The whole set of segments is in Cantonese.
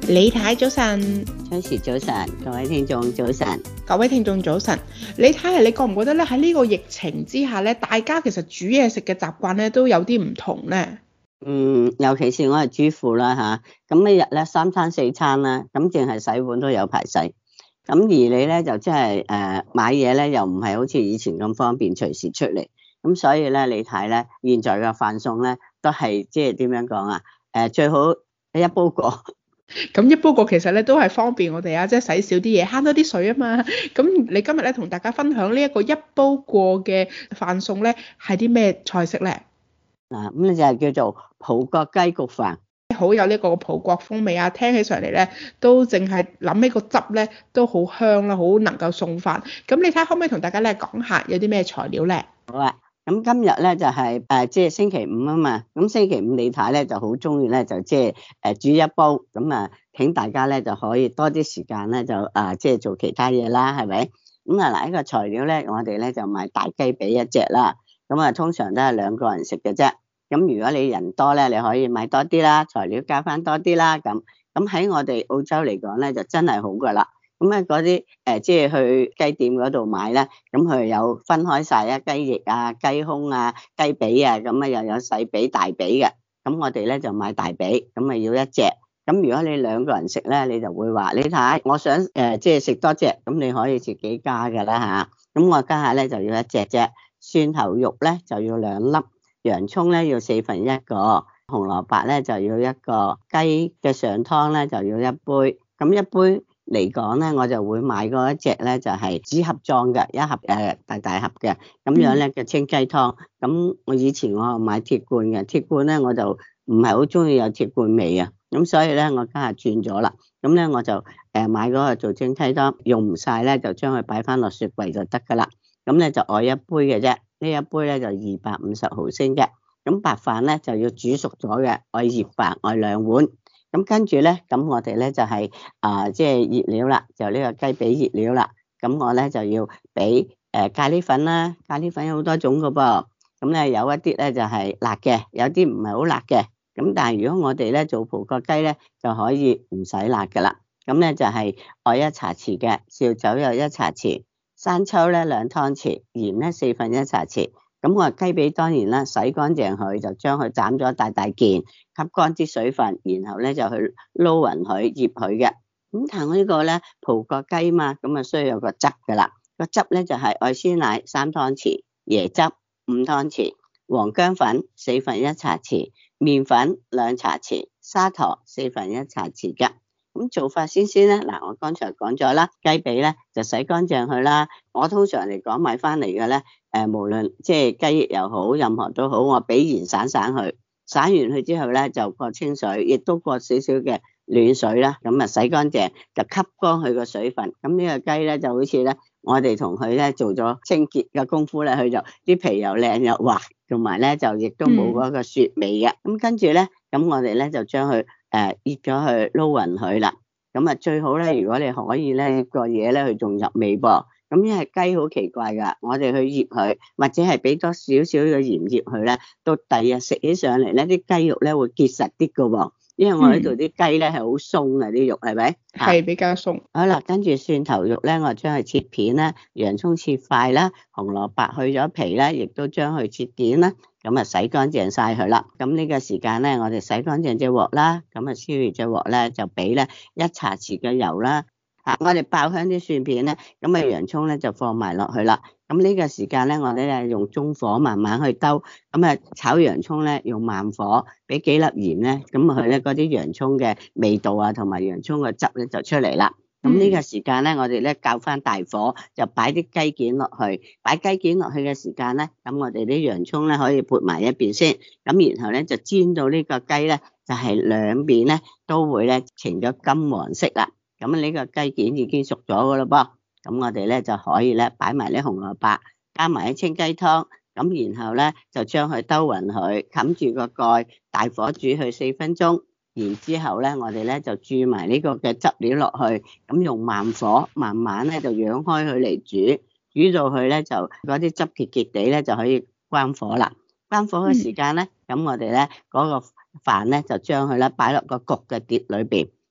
李太早晨， 崔氏早晨，各位聽眾早晨。 各位聽眾早晨。李太，你覺唔覺得咧喺呢個疫情之下咧，大家其實煮嘢食嘅習慣咧都有啲唔同咧？ 尤其是我係主婦啦吓，咁一日咧三餐四餐啦，咁淨係洗碗都有排洗。咁而你咧就即係買嘢咧又唔係好似以前咁方便隨時出嚟，咁所以咧你睇咧現在嘅飯餸咧都係即係點樣講啊？最好一煲過。 咁一煲過其實咧都係方便我哋啊，即係洗少啲嘢，慳多啲水啊嘛。咁你今日咧同大家分享呢一個一煲過嘅飯餸咧係啲咩菜式咧？ 咁你就係叫做葡國雞焗飯， 好有呢個葡國風味啊！聽起上嚟咧都淨係諗起個汁咧都好香啦，好能夠送飯。咁你睇下可唔可以同大家咧講下有啲咩材料咧？ 好啊。咁今日咧就係即係星期五啊嘛，咁星期五李太咧就好中意咧就即係煮一煲，咁請大家咧就可以多啲時間咧就即係做其他嘢啦，係咪？咁嗱呢個材料咧，我哋咧就買大雞髀一隻啦，咁通常都係2個人食嘅啫。咁如果你人多咧，你可以買多啲啦，材料加翻多啲啦，咁喺我哋澳洲嚟講咧就真係好噶啦。咁嗰啲即係去雞店嗰度買咧，咁佢有分開晒啊，雞翼啊、雞胸啊、雞髀啊，咁又有細髀、大髀嘅。咁我哋咧就買大髀，咁要一隻。咁如果你2個人食咧，你就會話你睇，我想即係食多隻，咁你可以自己加噶啦吓。咁我家下咧就要一隻啫，蒜頭肉咧就要2粒，洋葱咧要1/4個，紅蘿蔔咧就要1個，雞嘅上湯咧就要1杯。咁一杯嚟講咧，我就會買嗰一隻咧就係紙盒裝嘅，一盒大盒嘅，咁樣咧嘅清雞湯。咁我以前我買鐵罐嘅，鐵罐咧我就唔係好中意有鐵罐味啊，咁所以咧我家下轉咗啦。咁咧我就買嗰個做清雞湯，用唔晒咧就將佢擺翻落雪櫃就得噶啦。咁咧就愛一杯嘅啫，呢一杯咧就250毫升嘅。咁白飯咧就要煮熟咗嘅，愛熱飯愛2碗。咁跟住咧，咁我哋咧就係即係熱料啦，就呢個雞髀熱料啦。咁我咧就要俾咖喱粉啦，咖喱粉有好多種噶噃。咁咧有一啲咧就係辣嘅，有啲唔係好辣嘅。咁但係如果我哋咧做葡國雞咧，就可以唔使辣噶啦。咁咧就係愛1茶匙嘅，紹酒又1茶匙，生抽咧2湯匙，鹽咧1/4茶匙。咁我雞髀當然啦，洗乾淨佢，就將佢斬咗大件，吸乾啲水分，然後咧就去撈勻佢，醃佢嘅。咁但係我呢個咧葡國雞嘛，咁需要有個汁噶啦。個汁咧就係愛鮮奶3湯匙，椰汁5湯匙，黃薑粉1/4茶匙，麵粉2茶匙，砂糖1/4茶匙嘅。咁做法先咧，嗱我剛才講咗啦，雞髀咧就洗乾淨佢啦。我通常嚟講買翻嚟嘅咧，無論即係雞翼又好，任何都好，我俾鹽散佢，散完佢之後咧就過清水，亦都過少少嘅暖水啦。咁洗乾淨就吸乾佢個水分。咁呢個雞咧就好似咧，我哋同佢咧做咗清潔嘅功夫咧，佢就啲皮又靚又滑，同埋咧就亦都冇嗰個雪味嘅。咁跟住咧，咁我哋咧就將佢醃咗去撈勻佢啦。咁最好咧，如果你可以咧個嘢咧，佢仲入味噃。咁因為雞好奇怪噶，我哋去醃佢，或者係俾多少少嘅鹽醃佢咧，到第二日食起上嚟咧，啲雞肉咧會結實啲噶喎。因為我呢度啲雞咧係好鬆啊，啲肉係咪？ 係比較鬆。 好啦，跟住蒜頭肉咧，我將佢切片啦，洋葱切塊啦，紅蘿蔔去咗皮咧，亦都將佢切片啦。咁洗乾淨晒佢啦。咁呢個時間咧，我哋洗乾淨隻鑊啦。咁燒熱隻鑊咧，就俾咧1茶匙嘅油啦。我哋爆香啲蒜片咧，咁洋葱咧就放埋落去啦。咁呢個時間咧，我哋咧用中火慢慢去兜。咁炒洋葱咧用慢火，俾幾粒鹽咧，咁佢咧嗰啲洋葱嘅味道啊，同埋洋葱嘅汁咧就出嚟啦。咁呢個時間咧，我哋咧較翻大火，就擺啲雞件落去。擺雞件落去嘅時間咧，咁我哋啲洋葱咧可以撥埋一邊先。咁然後咧就煎到呢個雞咧，就係兩邊咧都會咧呈咗金黃色啦。咁呢個雞件已經熟咗噶啦噃。咁我哋咧就可以咧擺埋啲紅蘿蔔，加埋啲清雞湯。咁然後咧就將佢兜勻佢，冚住個蓋，大火煮佢4分鐘。然之後咧，我哋咧就注埋呢個嘅汁料落去，咁用慢火慢慢咧就揚開佢嚟煮，煮到佢咧就嗰啲汁結結地咧就可以關火啦。關火嘅時間咧，咁我哋咧嗰個飯咧就將佢咧擺落個焗嘅碟裏邊，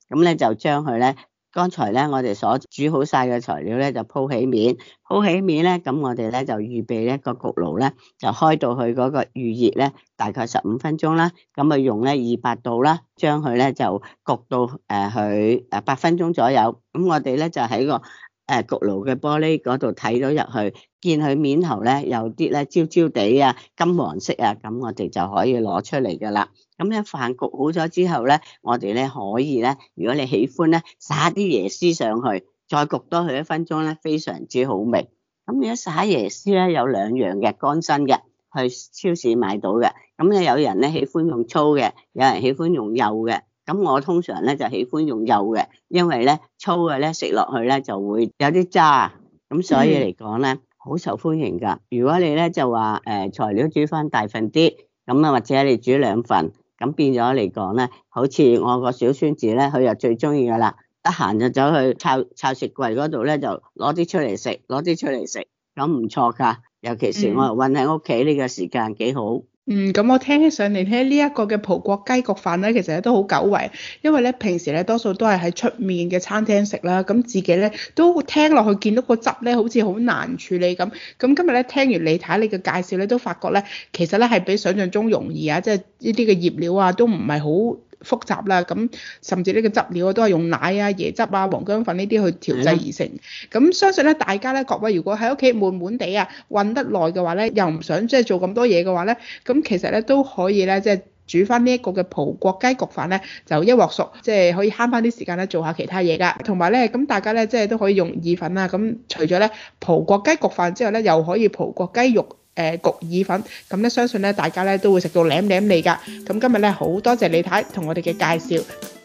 咁咧就將佢咧，剛才咧我哋所煮好晒嘅材料咧就鋪起面，咧，咁我哋咧就預備咧個焗爐咧就開到佢嗰個預熱咧，大概15分鐘啦，咁啊用咧200度啦，將佢咧就焗到佢8分鐘左右，咁我哋咧就喺個焗爐嘅玻璃嗰度睇到入去，見佢面頭咧有啲咧焦焦地啊、金黃色啊，咁我哋就可以攞出嚟噶啦。咁咧飯焗好咗之後咧，我哋咧可以咧，如果你喜歡咧，撒啲椰絲上去，再焗多佢1分鐘咧，非常之好味。咁如果撒椰絲咧有2樣嘅，乾身嘅，去超市買到嘅。咁咧有人咧喜歡用粗嘅，有人喜歡用幼嘅。咁我通常咧就喜歡用幼嘅，因為咧粗嘅咧食落去咧就會有啲渣，咁所以嚟講咧好受歡迎噶。如果你咧就話材料煮翻大份啲，咁啊或者你煮2份，咁變咗嚟講咧，好似我個小孫子咧，佢又最中意噶啦，得閒就走去抄食櫃嗰度咧就攞啲出嚟食，咁唔錯噶。尤其是我韞喺屋企呢個時間幾好。 咁我聽起上嚟咧，呢一個嘅葡國雞焗飯咧，其實都好久違，因為咧平時咧多數都係喺出面嘅餐廳食啦，咁自己咧都聽落去見到個汁咧好似好難處理咁。咁今日咧聽完李太你嘅介紹咧，都發覺咧其實咧係比想象中容易啊，即係呢啲嘅醃料啊都唔係好複雜啦，咁甚至呢個汁料都係用奶啊、椰汁啊、黃薑粉呢啲去調製而成。咁相信咧，大家咧各位如果喺屋企悶悶地啊，韞得耐嘅話咧，又唔想即係做咁多嘢嘅話咧，咁其實咧都可以咧即係煮翻呢一個嘅葡國雞焗飯咧，就一鑊熟，即係可以慳翻啲時間咧做下其他嘢噶。同埋咧，咁大家咧即係都可以用意粉啊。咁除咗咧葡國雞焗飯之後咧，又可以葡國雞肉焗意粉，咁咧相信咧大家咧都會食到舐舐脷㗎。咁今日咧好多謝李太同我哋嘅介紹。